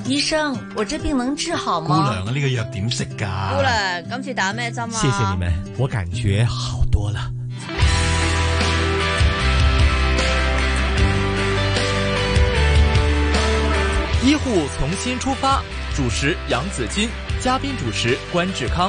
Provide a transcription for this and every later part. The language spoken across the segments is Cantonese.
醫生，我這病能治好嗎？ 姑娘啊，呢個藥點食㗎？ 姑娘，今次打咩針啊？ 謝謝你們，我感覺好多了。 醫護從新出發，主持楊子矜，嘉賓主持關志康。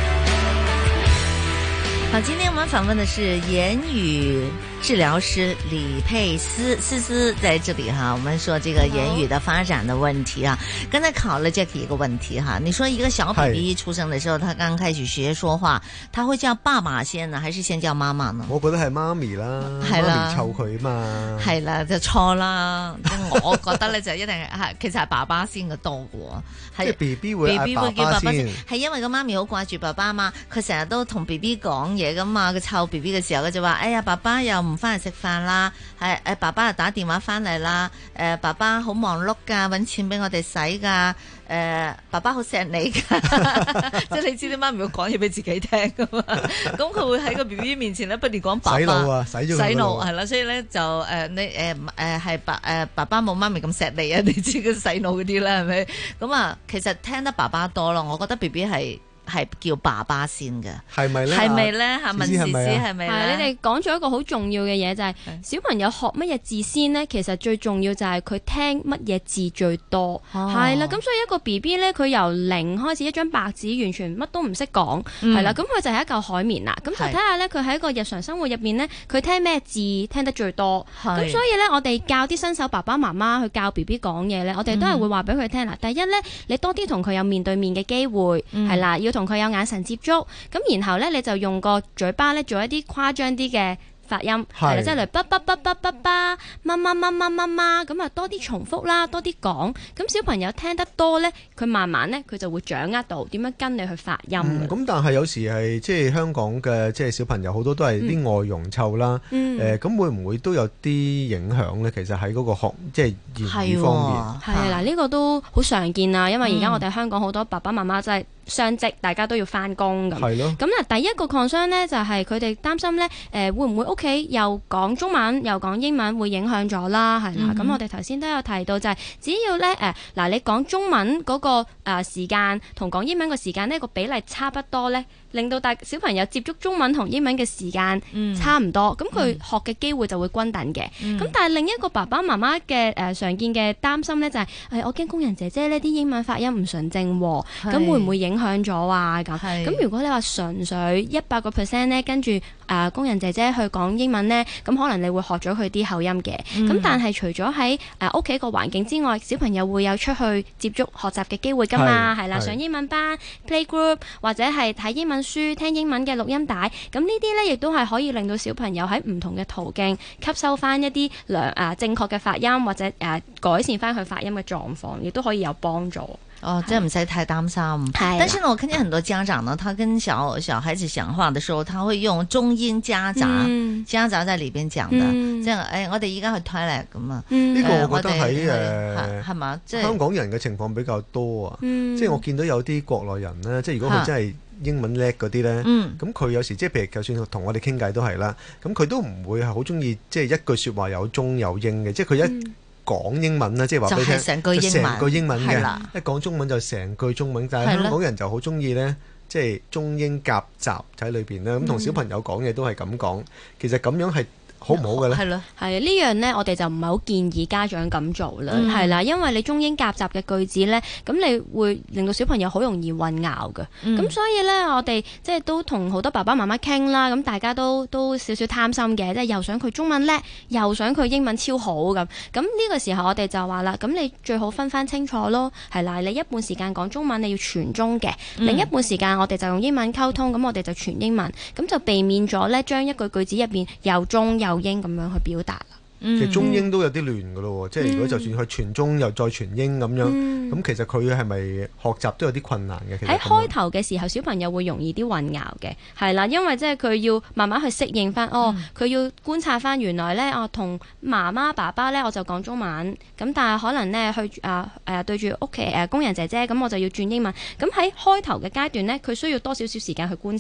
好，今天我們訪問的是言語治療師李佩思思在這裡哈，我們說這個言語的發展的問題啊。剛才考了 Jackie 一個問題哈，你說一個小 BB 出生的時候，他剛開始學說話，他會叫爸爸先呢，還是先叫媽媽呢？ 我覺得係媽咪啦，媽咪湊佢嘛。係啦， 就錯啦。我覺得咧就一定係其實係爸爸先嘅多嘅喎。 即係 BB 會嗌爸爸先， 係因為個媽咪好掛住爸爸嘛，佢成日都同 BB 講嘢噶嘛，佢湊 BB 嘅時候佢就話：哎呀，爸爸又唔翻嚟食飯啦，爸爸又打電話翻嚟啦，爸爸好忙碌噶，搵錢俾我哋使噶，爸爸好錫你噶，即係你知啲媽咪會講嘢俾自己聽噶嘛，咁佢會喺個 BB 面前咧不斷講爸爸， 洗腦啊，洗腦係啦，所以咧就你係爸爸冇媽咪咁錫你啊，你知佢洗腦嗰啲啦係咪？咁啊，其實聽得爸爸多咯，我覺得 BB 係叫爸爸先嘅， 係咪咧？ 係咪咧？問思思係咪咧？ 你哋講咗一個好重要嘅嘢，就係小朋友學乜嘢字先呢？其實最重要就係佢聽乜嘢字最多，係啦。咁所以一個 BB 咧，佢由零開始一張白紙，完全乜都唔識講，係啦。咁佢就係一嚿海綿啦。咁就睇下咧，佢喺個日常生活入邊咧，佢聽咩字聽得最多。咁所以咧，我哋教啲新手爸爸媽媽去教 BB 講嘢咧，我哋都係會話俾佢聽啦。第一咧，你多啲同佢有面對面嘅機會，係啦，要同佢有眼神接觸，咁然後咧你就用個嘴巴咧做一啲誇張啲嘅發音，係啦，即係嚟叭叭叭叭叭叭，媽媽媽媽媽媽，咁啊多啲重複啦，多啲講，咁小朋友聽得多咧，佢慢慢咧佢就會掌握到點樣跟你去發音。 咁但係有時係即係香港嘅即係小朋友好多都係啲外傭湊啦，咁會唔會都有啲影響咧？其實喺嗰個學即係言語方面， 係啦，呢個都好常見啊，因為而家我哋香港好多爸爸媽媽真係雙職，大家都要翻工咁。係咯。咁啊，第一個 concern 咧就係佢哋擔心咧，會唔會屋企又講中文又講英文會影響咗啦？係啦。咁我哋頭先都有提到就係，只要咧嗱你講中文嗰個時間同講英文個時間呢個比例差不多咧，令到小朋友接觸中文同英文嘅時間差唔多，咁佢學嘅機會就會均等嘅。咁但係另一個爸爸媽媽嘅常見嘅擔心咧就係，我驚工人姐姐呢啲英文發音唔純正喎，咁會唔會影響咗啊？咁如果你話純粹100%咧跟住工人姐姐去講英文呢，咁可能你會學咗佢啲口音嘅。咁但係除咗喺屋企個環境之外，小朋友會有出去接觸學習嘅機會㗎嘛，係啦，上英文班、playgroup 或者係睇英文書、聽英文嘅錄音帶，咁呢啲呢亦都係可以令到小朋友喺唔同嘅途徑吸收翻一啲正確嘅發音，或者改善翻佢發音嘅狀況，亦都可以有幫助。 哦，這唔使太擔心。但是呢，我看見很多家長呢，他跟小孩子講話的時候，他會用中英夾雜在裏邊講的，即係我哋而家去 toilet 咁啊。 呢個我覺得喺係嘛，即係香港人嘅情況比較多啊。即係我見到有啲國內人呢，即係如果佢真係英文叻嗰啲呢，咁佢有時即係譬如就算同我哋傾偈都係啦，咁佢都唔會係好中意即係一句説話有中有英嘅，即係佢一講英文啦，即係話俾你聽，成句英文嘅，一講中文就成句中文。但係香港人就好中意呢，即係中英夾雜喺裏邊咧。咁同小朋友講嘢都係咁講，其實咁樣係好唔好嘅咧？係咯， 係呢樣呢，我哋就唔係好建議家長咁做啦，係啦，因為你中英夾雜嘅句子呢，咁你會令到小朋友好容易混淆嘅。咁所以呢，我哋即係都同好多爸爸媽媽傾啦，咁大家都少少貪心嘅，即係又想佢中文叻，又想佢英文超好咁。咁呢個時候我哋就話啦，咁你最好分翻清楚咯，係啦，你一半時間講中文你要全中嘅，另一半時間我哋就用英文溝通，咁我哋就全英文，咁就避免咗呢將一句句子入邊又中又英咁樣去表達啦。 其實中英都有啲亂㗎咯，即係如果就算佢全中又再全英咁樣，咁其實佢係咪學習都有啲困難嘅？ 喺開頭嘅時候，小朋友會容易啲混淆嘅，係啦，因為即係佢要慢慢去適應翻，佢要觀察翻原來呢，同媽媽爸爸呢，我就講中文，咁但係可能呢，去對住屋企工人姐姐，咁我就要轉英文。咁喺開頭嘅階段呢，佢需要多少少時間去觀察。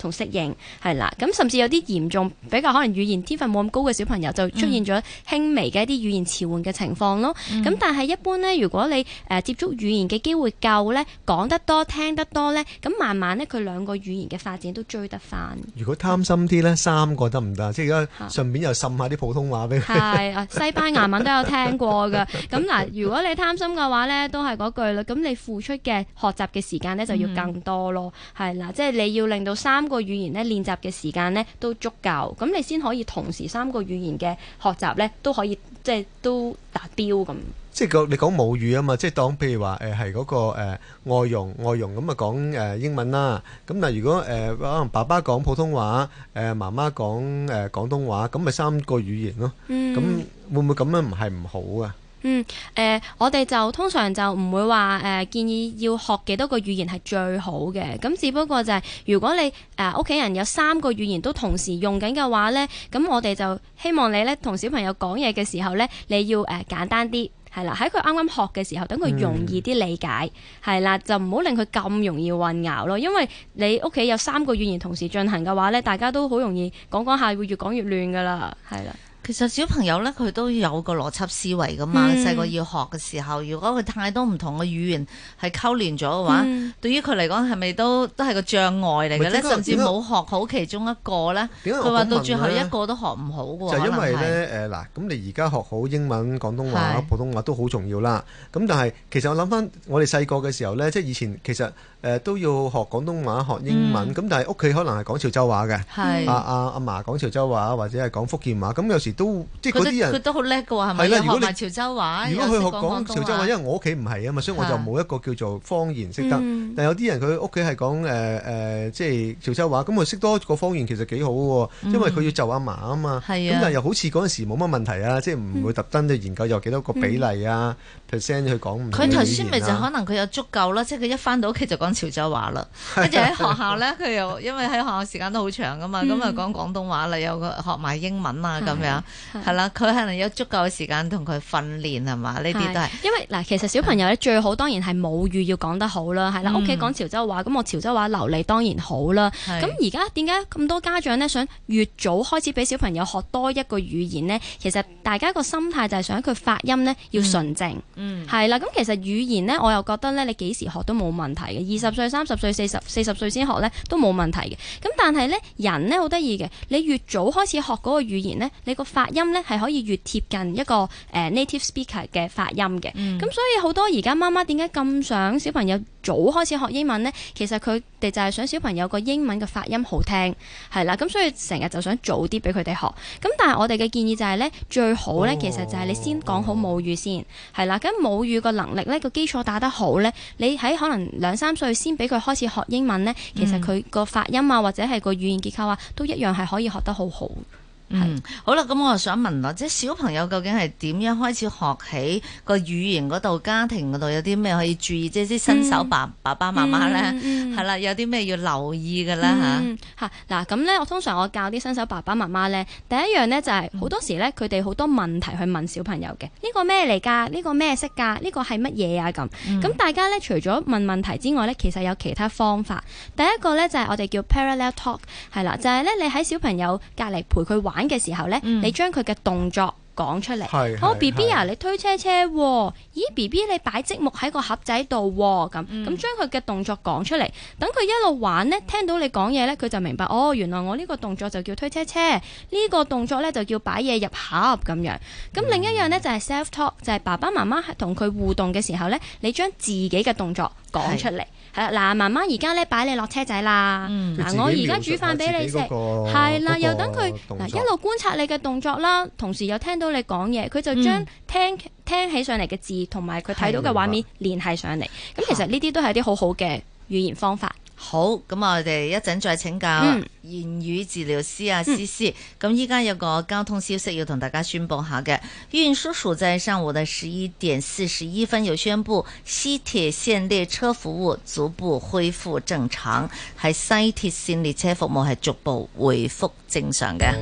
同適應係啦。咁甚至有啲嚴重比較可能語言天分冇咁高嘅小朋友就出現咗輕微嘅一啲語言遲緩嘅情況咯。咁但係一般咧，如果你接觸語言嘅機會夠咧，講得多聽得多咧，咁慢慢咧佢兩個語言嘅發展都追得翻。 如果貪心啲咧，3個得唔得？即係而家順便又滲下啲普通話俾佢。 係西班牙文都有聽過㗎。咁嗱，如果你貪心嘅話咧，都係嗰句啦。咁你付出嘅學習嘅時間咧就要更多咯。係啦，即係你要令到3個語言咧練習嘅時間咧都足夠，咁你先可以同時3個語言嘅學習咧都可以即係都達標咁。 即係你講母語啊嘛，即係當譬如話係嗰個外傭咁啊講英文啦。咁但係如果可能爸爸講普通話，媽媽講廣東話，咁咪3個語言咯。咁會唔會咁樣唔係唔好啊？ 我哋就通常就唔會話建議要學幾多個語言係最好嘅，咁只不過就係如果你屋企人有3個語言都同時用緊嘅話呢，咁我哋就希望你呢同小朋友講嘢嘅時候呢，你要簡單啲。係啦，喺佢啱啱學嘅時候，等佢容易啲理解，係啦，就唔好令佢咁容易混淆咯。因為你屋企有3個語言同時進行嘅話呢，大家都好容易講講下會越講越亂噶啦，係啦。 其實小朋友咧，佢都有個邏輯思維噶嘛。細個要學嘅時候，如果佢太多唔同嘅語言係溝連咗嘅話，對於佢嚟講係咪都係個障礙嚟嘅咧？甚至冇學好其中一個咧，佢話到最後一個都學唔好嘅喎。 就因為咧嗱，咁你而家學好英文、廣東話、普通話都好重要啦。咁但係其實我諗翻我哋細個嘅時候咧，即係以前其實都要學廣東話、學英文。咁但係屋企可能係講潮州話嘅，阿嫲講潮州話或者係講福建話。咁有時都即係嗰啲人佢都好叻嘅喎，係咪？學埋潮州話。 如果佢學講潮州話，因為我屋企唔係啊嘛，所以我就冇一個叫做方言識得。但係有啲人佢屋企係講即係潮州話，咁佢識多個方言其實幾好嘅喎，因為佢要就阿嫲啊嘛。咁但係又好似嗰陣時冇乜問題啊，即係唔會特登去研究有幾多個比例啊 percent 去講唔同嘅語言。 佢頭先咪就可能佢有足夠啦，即係佢一返到屋企就講潮州話啦，跟住喺學校咧佢又因為喺學校時間都好長噶嘛，咁啊講廣東話啦，有個學埋英文啊咁樣。係啦，佢可能有足夠嘅時間同佢訓練係嘛？呢啲都係因為嗱，其實小朋友咧最好當然係母語要講得好啦，係啦，屋企講潮州話，咁我潮州話流利當然好啦。咁而家點解咁多家長咧想越早開始俾小朋友學多一個語言呢？其實大家個心態就係想佢發音呢要純正，係啦。咁其實語言呢，我又覺得咧，你幾時學都冇問題嘅。20歲、30歲、40歲先學咧都冇問題嘅。咁但係咧人呢好得意嘅，你越早開始學嗰個語言呢，你個發音咧係可以越貼近一個native speaker 嘅發音嘅。咁所以好多而家媽媽點解咁想小朋友早開始學英文呢？其實佢哋就係想小朋友個英文嘅發音好聽，係啦。咁所以成日就想早啲俾佢哋學。咁但係我哋嘅建議就係咧，最好咧其實就係你先講好母語先，係啦。咁母語個能力咧個基礎打得好咧，你喺可能2、3歲先俾佢開始學英文咧，其實佢個發音啊或者係個語言結構啊都一樣係可以學得好好。 好啦，咁我就想問啦，即係小朋友究竟係點樣開始學起個語言嗰度，家庭嗰度有啲咩可以注意？即係啲新手爸爸媽媽咧，係啦，有啲咩要留意嘅咧嚇？ 嗱，咁咧，我通常教啲新手爸爸媽媽咧，第一樣咧就係好多時咧，佢哋好多問題去問小朋友嘅，呢個咩嚟㗎？呢個咩色㗎？呢個係乜嘢啊？咁大家咧除咗問問題之外咧，其實有其他方法。第一個咧就係我哋叫 parallel talk， 係啦，就係咧你喺小朋友隔離陪佢玩嘅時候咧，你將佢嘅動作講出嚟。好 B B 啊，你推車車喎，咦 B B 你擺積木喺個盒仔度喎，咁將佢嘅動作講出嚟，等佢一路玩呢，聽到你講嘢呢，佢就明白哦，原來我呢個動作就叫推車車，呢個動作呢就叫擺嘢入盒咁樣。咁另一樣呢，就係 self talk， 就係爸爸媽媽同佢互動嘅時候呢，你將自己嘅動作講出嚟。係啦，嗱，媽媽而家咧擺你落車仔啦。嗱，我而家煮飯俾你食。係啦，又等佢嗱一路觀察你嘅動作啦，同時又聽到你講嘢，佢就將聽起上嚟嘅字同埋佢睇到嘅畫面聯繫上嚟。咁其實呢啲都係啲好好嘅語言方法。 好，咁我哋一陣再請教言語治療師啊思思。咁依家有個交通消息要同大家宣佈下嘅，運輸署在上午的11點41分有宣布，西鐵線列車服務逐步恢復正常，係西鐵線列車服務係逐步回復正常嘅。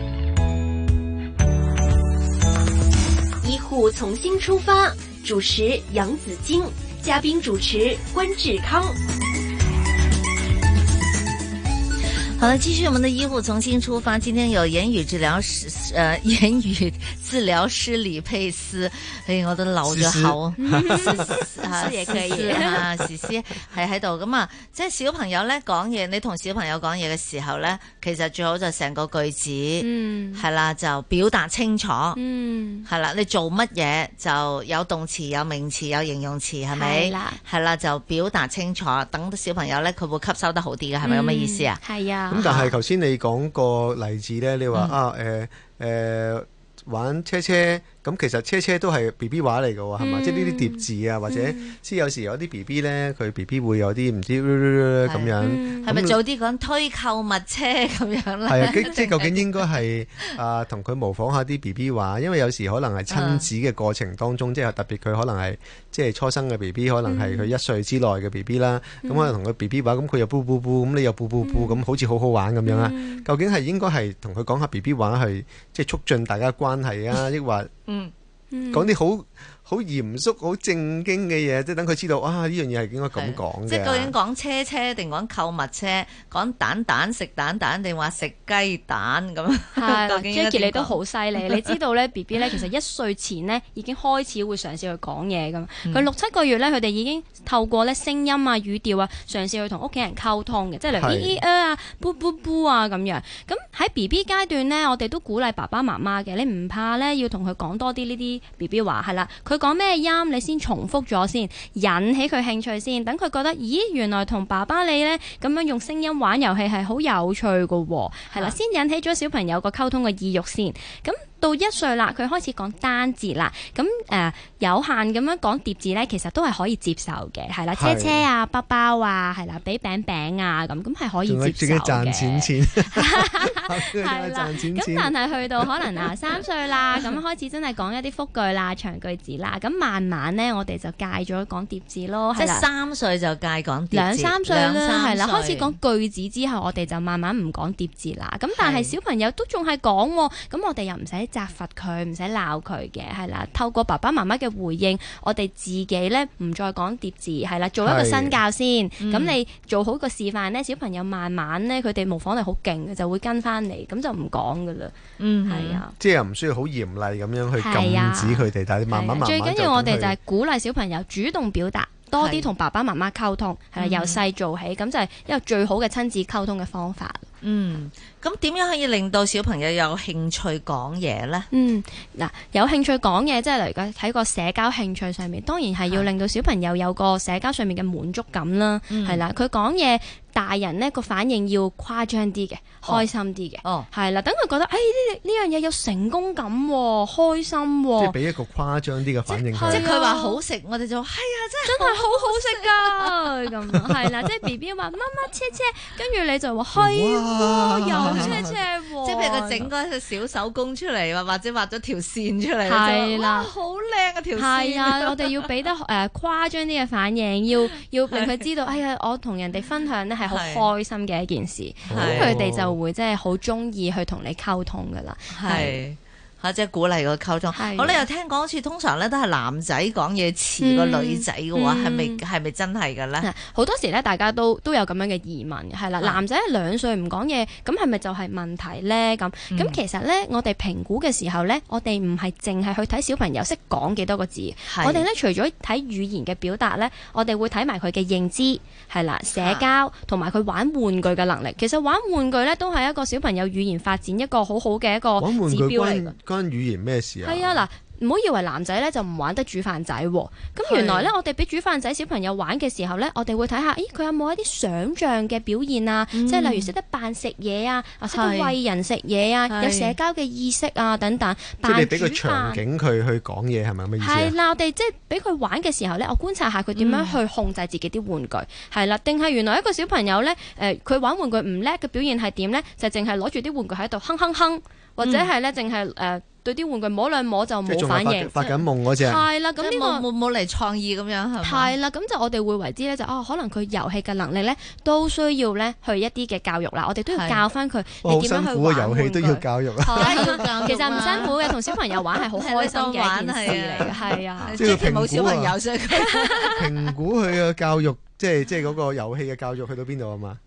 醫護從新出發，主持楊子矜，嘉賓主持關志康。 好了，繼續我們的醫護重新出發。今天有言語治療師李佩斯，我都漏咗口， 詩也可以啊，詩係喺度咁啊。即係小朋友咧講嘢，你同小朋友講嘢嘅時候咧，其實最好就成個句子，係啦，就表達清楚，係啦，你做乜嘢就有動詞、有名詞、有形容詞，係咪？係啦，就表達清楚，等小朋友咧佢會吸收得好啲嘅，係咪咁嘅意思啊？ 係啊。 咁但係頭先你講個例子咧，你話玩車車，咁其實車車都係 BB 話嚟嘅喎，係嘛？即係呢啲疊字啊，或者即係有時有啲 BB 咧，佢 BB 會有啲唔知咁樣， 係咪早啲講推購物車咁樣咧？ 係啊，即係究竟應該係同佢模仿下啲 BB 話，因為有時可能係親子嘅過程當中，即係特別佢可能係即係初生嘅 BB，可能係佢1歲之內嘅 BB 啦，咁可能同佢 BB 話，咁佢又噗噗噗，咁你又噗噗噗，咁好似好好玩咁樣啊？究竟係應該係同佢講下 BB 話去即係促進大家關係啊，抑或講啲好嚴肅、好正經嘅嘢，即係等佢知道呢樣嘢係應該咁講嘅。 即係究竟講車車定講購物車，講蛋食蛋定話食雞蛋咁？ 係，Jackie 你都好犀利，你知道咧 BB 咧其實1歲前咧已經開始會嘗試去講嘢咁。佢6、7個月咧，佢哋已經透過咧聲音啊、語調啊，嘗試去同屋企人溝通嘅，即係例如咿咿啊、噗噗噗啊咁樣。咁喺 BB 階段咧，我哋都鼓勵爸爸媽媽嘅，你唔怕咧要同佢講多啲呢啲 BB 話係啦，佢講咩音你先重複咗先，引起佢興趣先，等佢覺得咦原來同爸爸你呢咁樣用聲音玩遊戲係好有趣㗎喎，係啦，先引起咗小朋友個溝通嘅意欲先。咁到1歲啦，佢開始講單字啦，咁有限咁樣講疊字呢，其實都係可以接受嘅，係啦，車車啊、包包啊，係啦，俾餅餅啊，咁係可以接受嘅。 自己賺錢， 係啦，咁但係去到可能3歲啦，咁開始真係講一啲複句啦、長句子啦，咁慢慢呢，我哋就戒咗講疊字咯， 即係3歲就戒講疊字 ，2、3歲啦，係啦，開始講句子之後，我哋就慢慢唔講疊字啦。咁但係小朋友都仲係講喎，咁我哋又唔使責罰佢，唔使鬧佢嘅，係啦。透過爸爸媽媽嘅回應，我哋自己咧唔再講疊字，係啦，做一個身教先。咁你做好個示範咧，小朋友慢慢咧，佢哋模仿力好勁嘅，就會跟翻嚟，咁就唔講噶啦。係啊， 即係又唔需要好嚴厲咁樣去禁止佢哋，但係慢慢最緊要我哋就係鼓勵小朋友主動表達。多啲同爸爸媽媽溝通，係啦，由細做起，咁就係一個最好嘅親子溝通嘅方法。 咁點樣可以令到小朋友有興趣講嘢呢？ 嗱，有興趣講嘢，即係例如喺個社交興趣上面，當然係要令到小朋友有個社交上面嘅滿足感啦。係啦，佢講嘢，大人呢個反應要誇張啲嘅，開心啲嘅。係啦，等佢覺得，呢樣嘢有成功感喎，開心喎。 即係俾一個誇張啲嘅反應。 即係佢話好食，我哋就係啊， 真係好好食㗎咁。係啦，即係 BB 話媽媽車車，跟住你就話係。有車車喎， 即係譬如佢整嗰隻小手工出嚟，或者畫咗條線出嚟， 係啦， 好靚啊條線。 係啊，我哋要俾得誇張啲嘅反應，要令佢知道，哎呀，我同人哋分享呢係好開心嘅一件事，咁佢哋就會即係好中意去同你溝通噶啦。係。 即係鼓勵個溝通。我哋又聽講好似通常咧都係男仔講嘢似個女仔嘅話，係咪真係嘅咧？ 好多時咧，大家都有咁樣嘅疑問，係啦。男仔2歲唔講嘢，咁係咪就係問題咧？咁其實咧，我哋評估嘅時候咧，我哋唔係淨係去睇小朋友識講幾多個字，我哋咧除咗睇語言嘅表達咧，我哋會睇埋佢嘅認知，係啦，社交同埋佢玩玩具嘅能力。其實玩玩具咧都係一個小朋友語言發展一個好好嘅一個指標嚟嘅。 關語言咩事啊？ 係啊，嗱，唔好以為男仔咧就唔玩得煮飯仔喎。咁原來咧，我哋俾煮飯仔小朋友玩嘅時候咧，我哋會睇下，咦，佢有冇一啲想像嘅表現啊？即係例如識得扮食嘢啊，識得餵人食嘢啊，有社交嘅意識啊等等。 即係你俾個場景佢去講嘢係咪咁嘅意思啊？ 係啦，我哋即係俾佢玩嘅時候咧，我觀察下佢點樣去控制自己啲玩具。係啦，定係原來一個小朋友咧，佢玩玩具唔叻嘅表現係點咧？就淨係攞住啲玩具喺度哼哼哼，或者係咧淨係對啲玩具摸兩摸就冇反應， 發緊夢嗰隻。 係啦，咁呢個冇嚟創意咁樣係嘛？ 係啦，咁就我哋會為之咧就可能佢遊戲嘅能力咧都需要咧去一啲嘅教育啦。我哋都要教翻佢你點樣去玩遊戲都要教育啊！ 其實唔辛苦嘅，同小朋友玩係好開心嘅一件事嚟嘅。係啊， 即係冇小朋友所以評估佢嘅教育，即係嗰個遊戲嘅教育去到邊度啊嘛？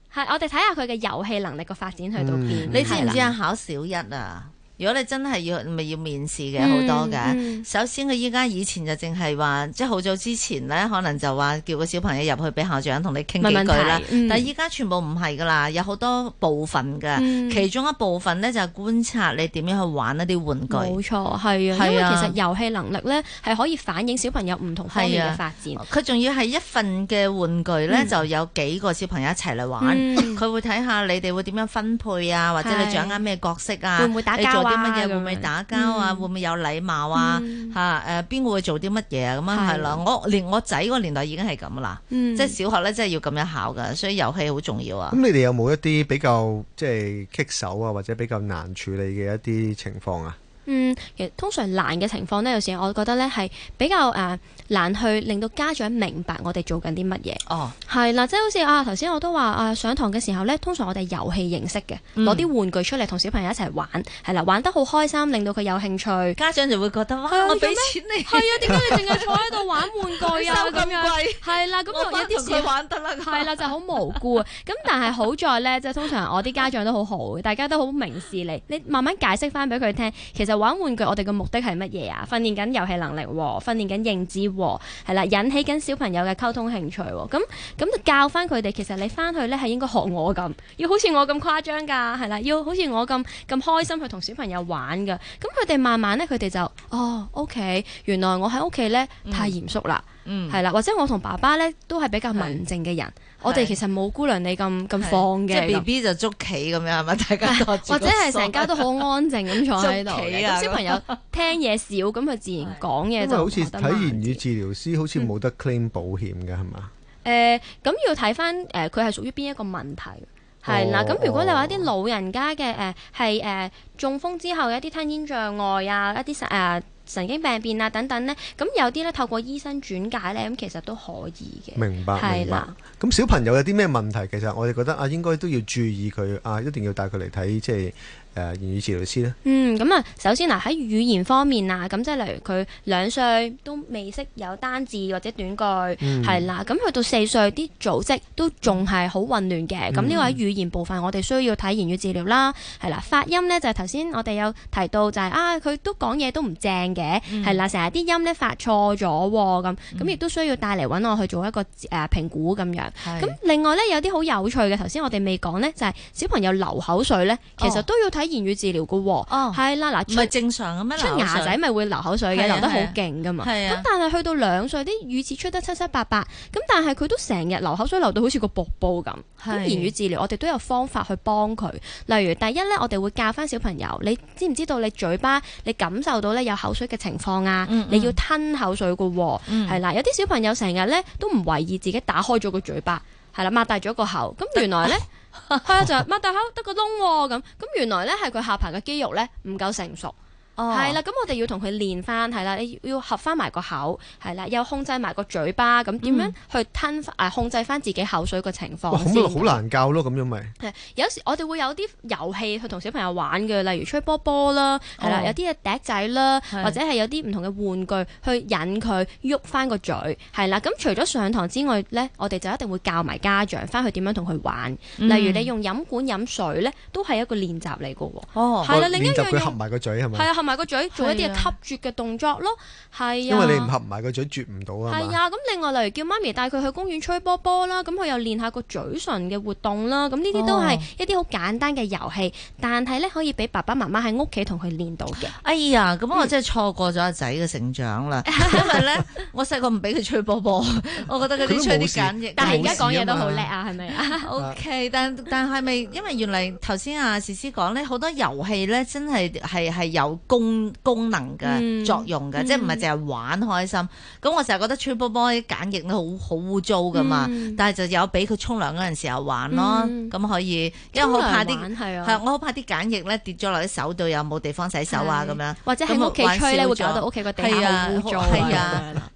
係我哋睇下佢嘅遊戲能力個發展去到邊。 你知唔知啊？考小一啊？如果你真係要面試嘅好多嘅，首先佢以前就淨係話，即係好早之前咧，可能就話叫個小朋友入去俾校長同你傾幾句啦。但係依家全部唔係噶啦，有好多部分嘅，其中一部分咧就係觀察你點樣去玩一啲玩具。冇錯，係啊，因為其實遊戲能力咧係可以反映小朋友唔同方面嘅發展。佢仲要係一份嘅玩具咧，就有幾個小朋友一齊嚟玩，佢會睇下你哋會點樣分配啊，或者你掌握咩角色啊， 會唔會打交啊？ 啲乜嘢會唔會打交啊？會唔會有禮貌啊？邊個會做啲乜嘢啊？咁樣係啦。連我仔嗰個年代已經係咁啦，即係小學咧，真係要咁樣考噶，所以遊戲好重要啊。 咁你哋有冇一啲比較即係棘手啊，或者比較難處理嘅一啲情況啊？ 其實通常難嘅情況呢，有時我覺得呢係比較難去令到家長明白我哋做緊啲乜嘢。哦，係啦，即係好似頭先我都話上堂嘅時候呢，通常我哋遊戲形式嘅，攞啲玩具出嚟同小朋友一齊玩，係啦，玩得好開心，令到佢有興趣， 家長就會覺得哇，我俾錢你， 係啊，點解你淨係坐喺度玩玩具啊？ 收咁貴， 係啦，咁我有啲事玩得啦， 係啦，就好無辜啊。咁但係好在呢，即係通常我啲家長都好好，大家都好明事理，你慢慢解釋翻俾佢聽，其實玩玩具我哋嘅目的係乜嘢啊？訓練緊遊戲能力，訓練緊認知，係啦，引起緊小朋友嘅溝通興趣。咁就教翻佢哋，其實你翻去咧係應該學我咁，要好似我咁誇張噶，係啦，要好似我咁開心去同小朋友玩噶。咁佢哋慢慢咧，佢哋就OK， 原來我喺屋企咧太嚴肅啦，係啦，或者我同爸爸咧都係比較文靜嘅人，我哋其實冇姑娘你咁放嘅， 即係 BB 就捉棋咁樣係咪？大家或者係成家都好安靜咁坐喺度，咁小朋友聽嘢少，咁佢自然講嘢就好似睇言語治療師，好似冇得 claim 保險嘅係嘛？ 咁要睇翻佢係屬於邊一個問題。係啦，咁如果你話一啲老人家嘅係中風之後有一啲吞咽障礙啊，一啲神經病變啊等等咧，咁有啲咧透過醫生轉介咧，咁其實都可以嘅。 明白， 係啦。 咁小朋友有啲咩問題？其實我哋覺得應該都要注意佢一定要帶佢嚟睇即係言語治療師咧。 咁首先喺語言方面咁即係例如佢2歲都未識有單字或者短句，係啦。咁去到4歲啲組織都仲係好混亂嘅。咁呢個喺語言部分，我哋需要睇言語治療啦。係啦，發音咧就係頭先我哋有提到就係佢都講嘢都唔正嘅，係啦，成日啲音咧發錯咗咁亦都需要帶嚟揾我去做一個評估咁樣。咁另外咧有啲好有趣嘅，頭先我哋未講咧，就係小朋友流口水咧，其實都要睇言語治療嘅喎。係啦，嗱， 唔係正常嘅咩？ 出牙仔咪會流口水嘅，流得好勁噶嘛。咁但係去到2歲，啲語詞出得七七八八，咁但係佢都成日流口水，流到好似個瀑布咁。咁言語治療我哋都有方法去幫佢。例如第一咧，我哋會教翻小朋友，你知唔知道你嘴巴你感受到咧有口水嘅情況啊？你要吞口水嘅喎。係啦，有啲小朋友成日咧都唔為意自己打開咗個嘴巴，係啦，擘大咗個口。咁原來咧就擘大口得個窿喎。咁原來咧係佢下巴嘅肌肉咧唔夠成熟。係啦，咁我哋要同佢練翻，係啦，你要合翻埋個口，係啦，又控制埋個嘴巴，咁點樣去控制翻自己口水嘅情況先。 好難教咯，咁樣咪。 有時我哋會有啲遊戲去同小朋友玩嘅，例如吹波波啦，係啦，有啲嘅笛仔啦，或者係有啲唔同嘅玩具去引佢喐翻個嘴，係啦。咁除咗上堂之外咧，我哋就一定會教埋家長翻去點樣同佢玩。例如你用飲管飲水咧，都係一個練習嚟嘅喎。係啦，另一樣嘢。 佢合埋個嘴係咪？ 係啊，合埋個嘴做一啲吸啜嘅動作咯，係啊。 因為你唔合埋個嘴啜唔到啊嘛。 係啊，咁另外例如叫媽咪帶佢去公園吹波波啦，咁佢又練下個嘴唇嘅活動啦，咁呢啲都係一啲好簡單嘅遊戲，但係咧可以俾爸爸媽媽喺屋企同佢練到嘅。 哎呀，咁我真係錯過咗阿仔嘅成長啦，因為咧我細個唔俾佢吹波波，我覺得嗰啲吹啲簡易， 但係而家講嘢都好叻啊，係咪啊 ？OK，但係咪因為原嚟頭先阿詩詩講咧，好多遊戲咧真係有功能嘅作用嘅，即係唔係淨係玩開心。咁我成日覺得吹波波啲梘液都好污糟噶嘛，但係就有俾佢沖涼嗰陣時候玩咯，咁可以，因為我好怕啲我好怕啲梘液咧跌咗落啲手度，又冇地方洗手啊咁樣， 或者喺屋企吹咧會搞到屋企個地下好污糟。 係啊，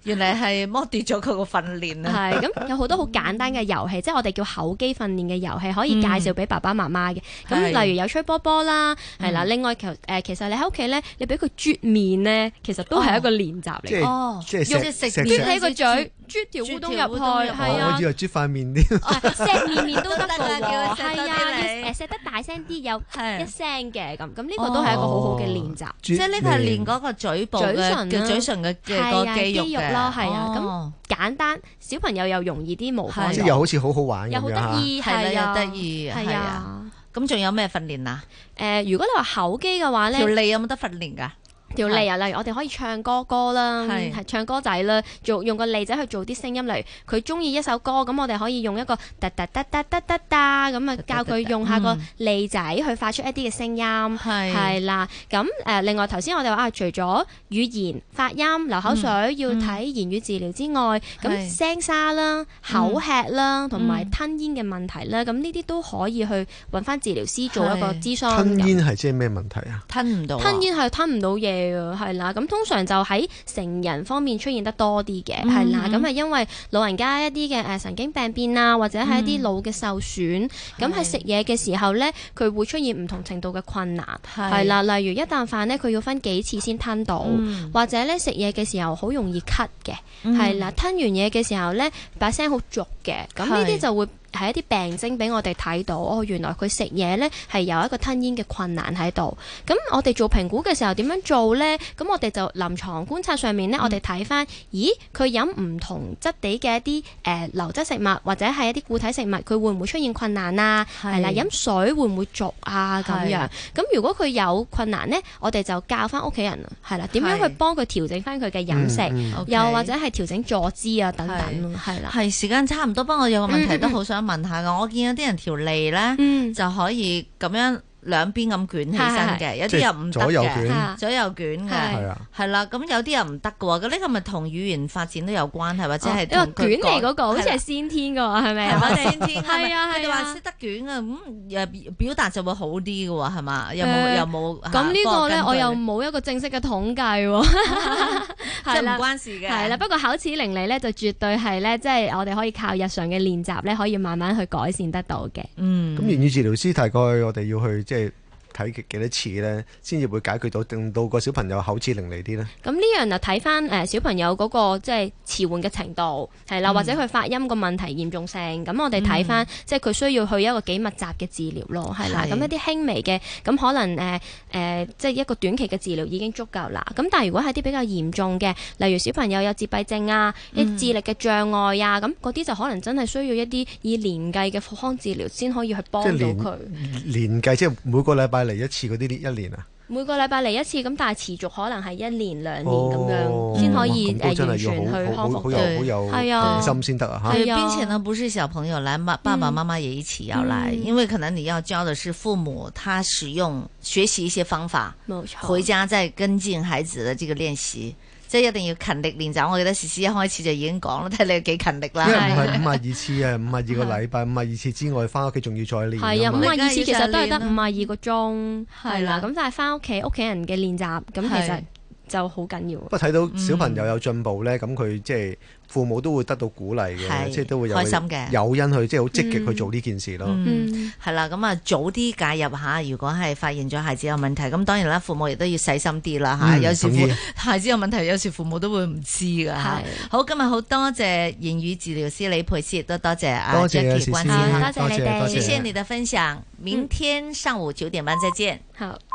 原來係剝奪咗佢個訓練啊！ 係咁有好多好簡單嘅遊戲，即係我哋叫口肌訓練嘅遊戲，可以介紹俾爸爸媽媽嘅。咁例如有吹波波啦，係啦。另外其實你喺屋企咧，你俾佢啜面咧，其實都係一個練習嚟。 哦， 即係食啜起個嘴，啜條烏冬入去，係啊。 我以為啜塊面添。 錫面都得㗎喎， 係啊，錫得大聲啲，有一聲嘅咁呢個都係一個好好嘅練習。 即係呢個係練嗰個嘴部嘅嘴唇嘅個肌肉咯， 係啊。咁簡單，小朋友又容易啲模仿， 即係又好似好好玩咁樣， 又好得意，係啊， 又得意，係啊。咁仲有咩訓練啊？ 如果你話口肌嘅話咧， 條脷有冇得訓練㗎？ 條脷啊，例如我哋可以唱歌啦，係唱歌仔啦，用個脷仔去做啲聲音，例如佢中意一首歌，咁我哋可以用一個噠噠噠噠噠噠噠咁啊，教佢用下個脷仔去發出一啲嘅聲音，係啦。咁另外頭先我哋話除咗語言發音、流口水要睇言語治療之外，咁聲沙啦、口吃啦，同埋吞咽嘅問題啦，咁呢啲都可以去揾翻治療師做一個諮詢。 吞咽係即係咩問題啊？ 吞唔到。吞咽係吞唔到嘢。係啦，咁通常就喺成人方面出現得多啲嘅，係啦，咁係因為老人家一啲嘅神經病變啊，或者係一啲腦嘅受損，咁喺食嘢嘅時候咧，佢會出現唔同程度嘅困難，係啦，例如一啖飯咧，佢要分幾次先吞到，或者咧食嘢嘅時候好容易咳嘅，係啦，吞完嘢嘅時候咧把聲好濁嘅，咁呢啲就會係一啲病徵俾我哋睇到，原來佢食嘢咧係有一個吞咽嘅困難喺度。咁我哋做評估嘅時候點樣做咧？咁我哋就臨床觀察上面咧，我哋睇翻，咦，佢飲唔同質地嘅一啲流質食物或者係一啲固體食物，佢會唔會出現困難啊？係啦，飲水會唔會濁啊？咁樣。咁如果佢有困難咧，我哋就教翻屋企人係啦，點樣去幫佢調整翻佢嘅飲食，又或者係調整坐姿啊等等，係啦。 係時間差唔多，不過我有個問題都好想問下㗎。我見有啲人條脷咧就可以咁樣兩邊咁捲起身嘅，有啲又唔得嘅，左右捲嘅，係啦。咁有啲又唔得嘅喎。咁呢個咪同語言發展都有關係，或者係因為捲脷嗰個好似係先天嘅喎，係咪啊？ 先天係啊，佢哋話識得捲啊，咁表達就會好啲嘅喎，係嘛？有冇？ 咁呢個咧，我又冇一個正式嘅統計喎， 即係唔關事嘅。 係啦，不過口齒伶俐咧就絕對係咧，即係我哋可以靠日常嘅練習咧，可以慢慢去改善得到嘅。 咁言語治療師大概我哋要去即係睇幾多次咧，先至會解決到，令到個小朋友口齒伶俐啲咧。 咁呢樣就睇翻小朋友嗰個即係遲緩嘅程度，係啦，或者佢發音個問題嚴重性。咁我哋睇翻即係佢需要去一個幾密集嘅治療咯，係啦。咁一啲輕微嘅，咁可能即係一個短期嘅治療已經足夠啦。咁但係如果係啲比較嚴重嘅，例如小朋友有自閉症啊、一智力嘅障礙啊，咁嗰啲就可能真係需要一啲以年計嘅復康治療先可以去幫到佢。 年計即係每個禮拜嚟一次嗰啲一年啊？ 每個禮拜嚟一次，咁但係持續可能係1年2年咁樣，先可以完全去康復。 好有恒心先得啊！哈， 並且呢，不是小朋友來，爸爸媽媽也一起要來，因為可能你要教的是父母，他學習一些方法，回家再跟進孩子的這個練習。即係一定要勤力練習，我記得詩詩一開始就已經講啦，睇你幾勤力啦。 因為唔係52次啊，52個禮拜，52次之外，翻屋企仲要再練。 係啊，52次其實都係得52個鐘，係啦。咁但係翻屋企人嘅練習，咁其實就好緊要。不過睇到小朋友有進步咧，咁佢即係父母都會得到鼓勵嘅，即係都會有開心嘅誘因去，即係好積極去做呢件事咯。 係啦，咁啊早啲介入下，如果係發現咗孩子有問題，咁當然啦，父母亦都要細心啲啦嚇。有時孩子有問題，有時父母都會唔知㗎嚇。好，今日好多謝言語治療師李佩斯，都多謝阿 Jackie 關心， 多謝你哋， 謝謝你的分享。明天上午9點半再見。 好。